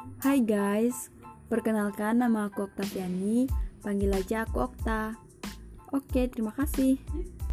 Hai guys, perkenalkan nama aku Oktaviani, panggil aja aku Okta. Oke, terima kasih.